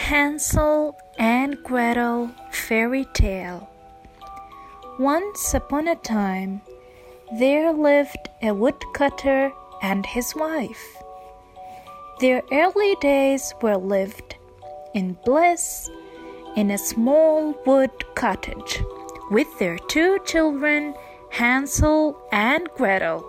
Hansel and Gretel Fairy Tale. Once upon a time, there lived a woodcutter and his wife. Their early days were lived in bliss in a small wood cottage with their 2 children, Hansel and Gretel.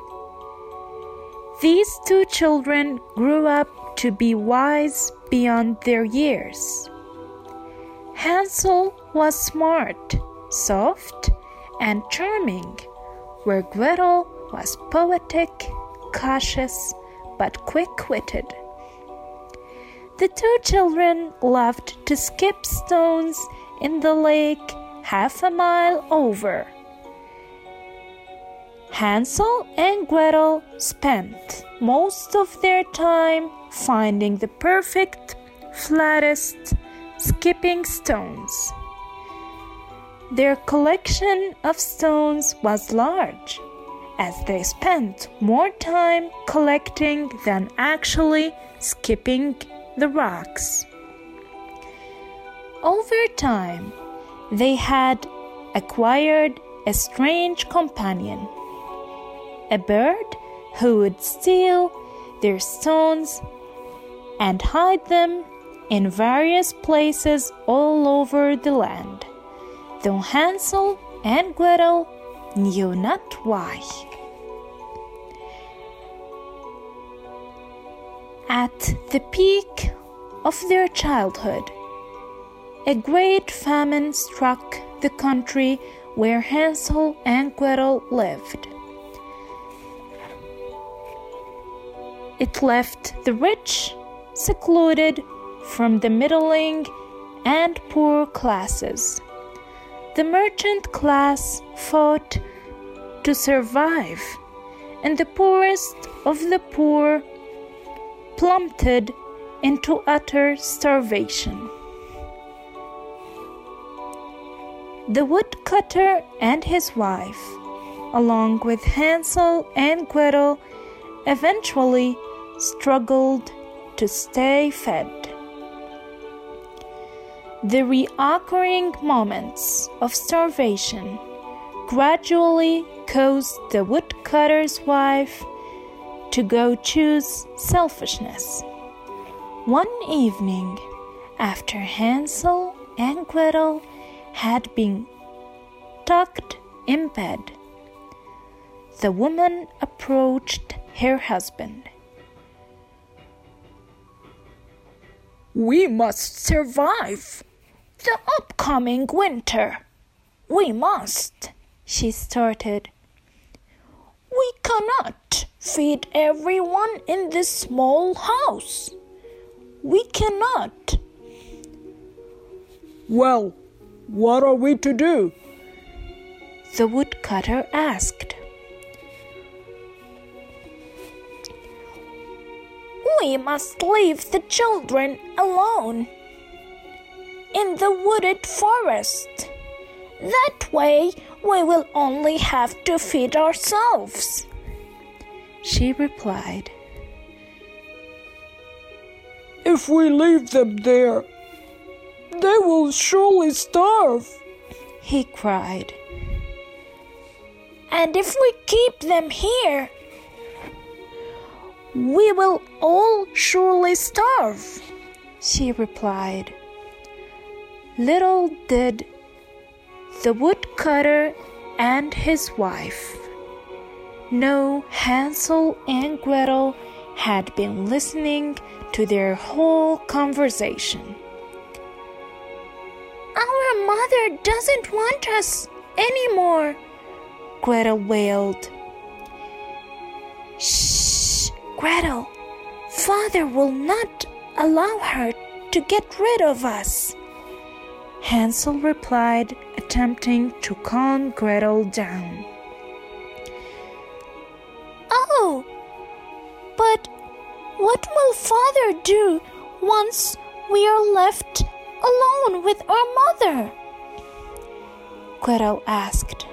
These 2 children grew up to be wise beyond their years. Hansel was smart, soft, and charming, where Gretel was poetic, cautious, but quick-witted. The 2 children loved to skip stones in the lake half a mile over. Hansel and Gretel spent most of their time finding the perfect, flattest skipping stones. Their collection of stones was large, as they spent more time collecting than actually skipping the rocks. Over time, they had acquired a strange companion, a bird who would steal their stones and hide them in various places all over the land, though Hansel and Gretel knew not why. At the peak of their childhood, a great famine struck the country where Hansel and Gretel lived. It left the rich secluded from the middling and poor classes. The merchant class fought to survive, and the poorest of the poor plummeted into utter starvation. The woodcutter and his wife, along with Hansel and Gretel, eventually struggled to stay fed. The reoccurring moments of starvation gradually caused the woodcutter's wife to go choose selfishness. One evening, after Hansel and Gretel had been tucked in bed, the woman approached her husband. "We must survive the upcoming winter. We must," she started. "We cannot feed everyone in this small house. We cannot." "Well, what are we to do?" the woodcutter asked. "We must leave the children alone in the wooded forest. That way we will only have to feed ourselves," she replied. "If we leave them there, they will surely starve," he cried. "And if we keep them here, we will all surely starve," she replied. Little did the woodcutter and his wife know Hansel and Gretel had been listening to their whole conversation. "Our mother doesn't want us anymore," Gretel wailed. "Shh, Gretel, Father will not allow her to get rid of us," Hansel replied, attempting to calm Gretel down. "Oh, but what will Father do once we are left alone with our mother?" Gretel asked.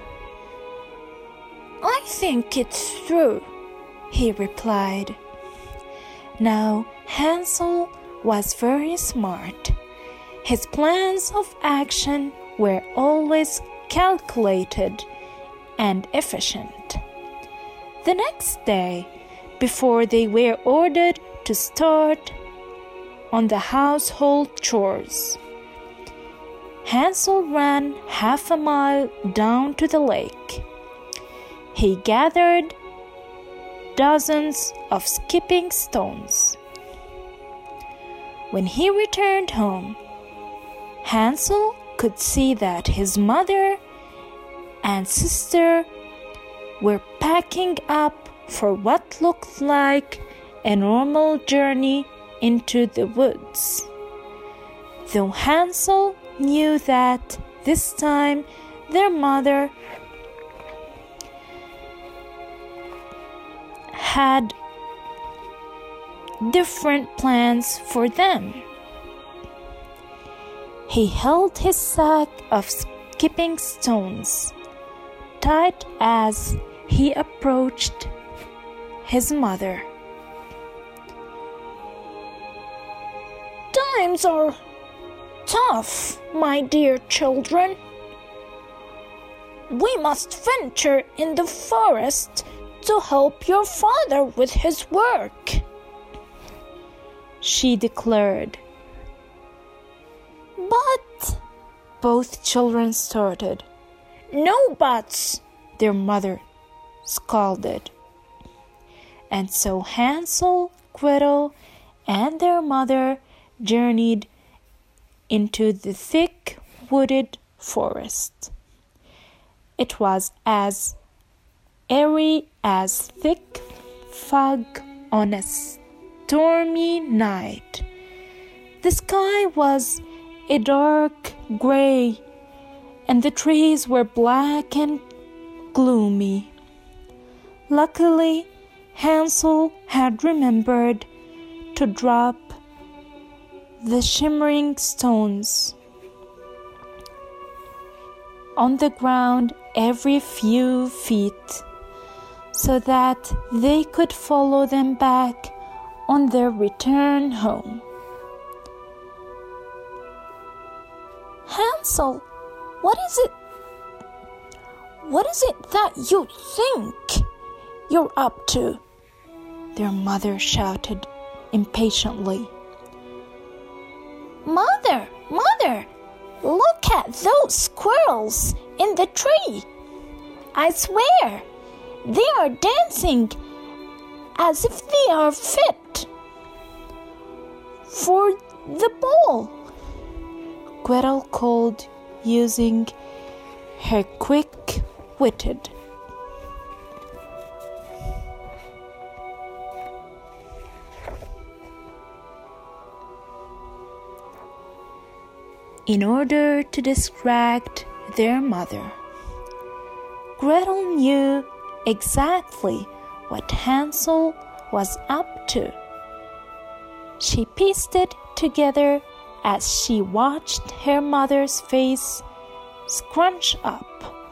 "I think it's true," he replied. Now Hansel was very smart. His plans of action were always calculated and efficient. The next day, before they were ordered to start on the household chores, Hansel ran half a mile down to the lake. He gathered dozens of skipping stones. When he returned home, Hansel could see that his mother and sister were packing up for what looked like a normal journey into the woods. Though Hansel knew that this time their mother had different plans for them. He held his sack of skipping stones tight as he approached his mother. Times are tough, my dear children. We must venture in the forest to help your father with his work, she declared. But both children started. No buts, their mother scolded. And so Hansel, Gretel, and their mother journeyed into the thick wooded forest. It was as airy as thick fog on a stormy night. The sky was a dark gray, and the trees were black and gloomy. Luckily, Hansel had remembered to drop the shimmering stones on the ground every few feet, so that they could follow them back on their return home. Hansel, what is it that you think you're up to? Their mother shouted impatiently. Mother, look at those squirrels in the tree. I swear, they are dancing as if they are fit for the ball, Gretel called, using her quick-witted. In order to distract their mother, Gretel knew exactly what Hansel was up to. She pieced it together as she watched her mother's face scrunch up.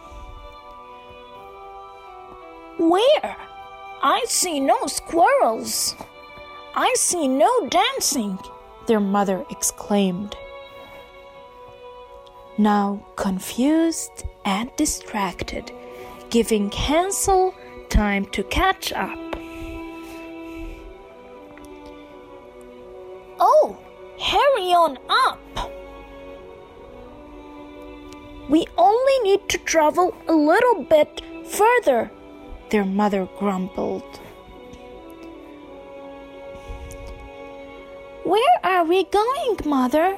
Where? I see no squirrels. I see no dancing, their mother exclaimed. Now confused and distracted, giving Hansel time to catch up. Oh, hurry on up. We only need to travel a little bit further, their mother grumbled. Where are we going, Mother?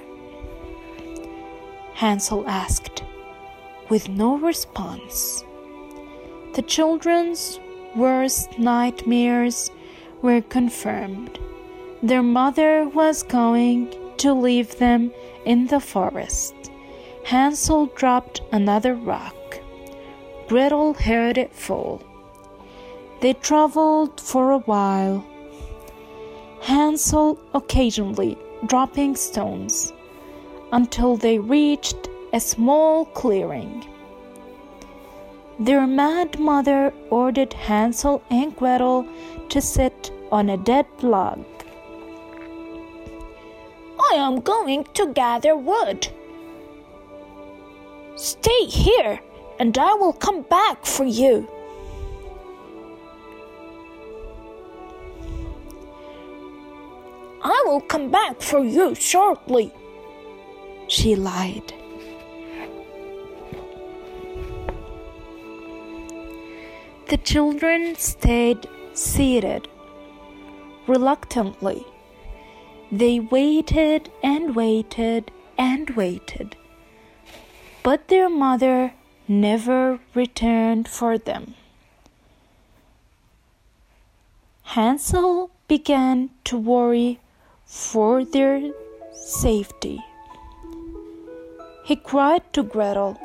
Hansel asked, with no response. The children's worst nightmares were confirmed. Their mother was going to leave them in the forest. Hansel dropped another rock. Gretel heard it fall. They traveled for a while, Hansel occasionally dropping stones, until they reached a small clearing. Their mad mother ordered Hansel and Gretel to sit on a dead log. I am going to gather wood. Stay here, and I will come back for you. I will come back for you shortly, she lied. The children stayed seated. Reluctantly, they waited and waited and waited, but their mother never returned for them. Hansel began to worry for their safety. He cried to Gretel,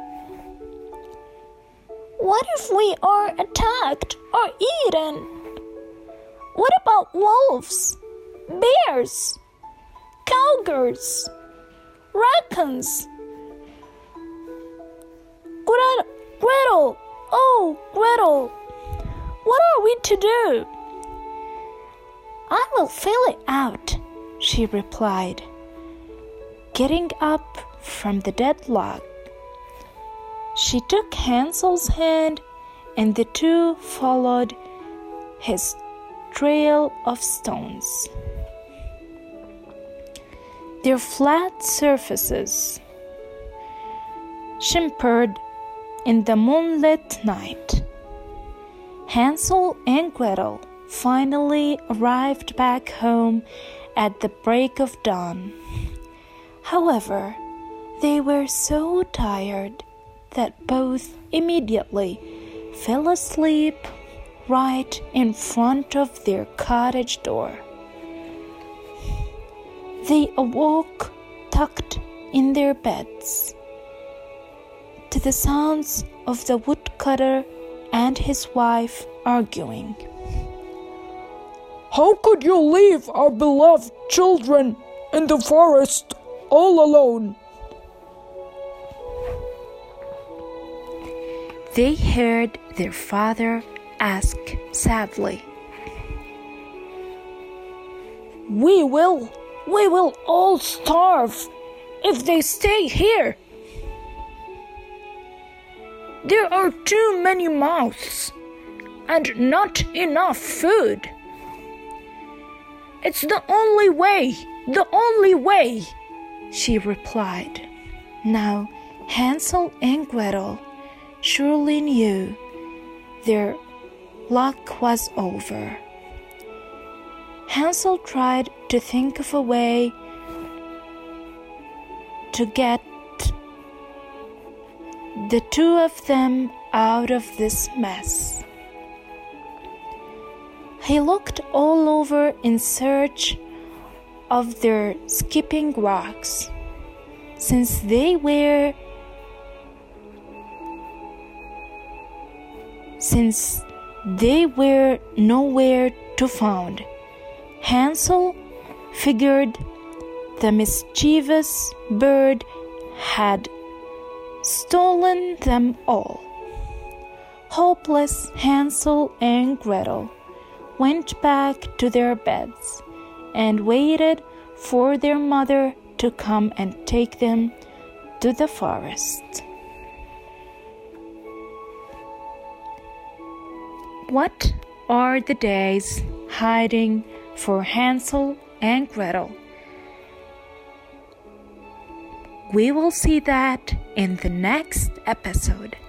"What if we are attacked or eaten? What about wolves, bears, cougars, raccoons? Gretel, oh Gretel, what are we to do?" "I will fill it out," she replied, getting up from the dead log. She took Hansel's hand, and the two followed his trail of stones. Their flat surfaces shimmered in the moonlit night. Hansel and Gretel finally arrived back home at the break of dawn. However, they were so tired that both immediately fell asleep right in front of their cottage door. They awoke tucked in their beds to the sounds of the woodcutter and his wife arguing. "How could you leave our beloved children in the forest all alone?" They heard their father ask sadly, We will all starve if they stay here. There are too many mouths and not enough food. It's the only way, she replied. Now Hansel and Gretel surely knew their luck was over. Hansel tried to think of a way to get the two of them out of this mess. He looked all over in search of their skipping rocks, since they were nowhere to found. Hansel figured the mischievous bird had stolen them all. Hopeless, Hansel and Gretel went back to their beds and waited for their mother to come and take them to the forest. What are the days hiding for Hansel and Gretel? We will see that in the next episode.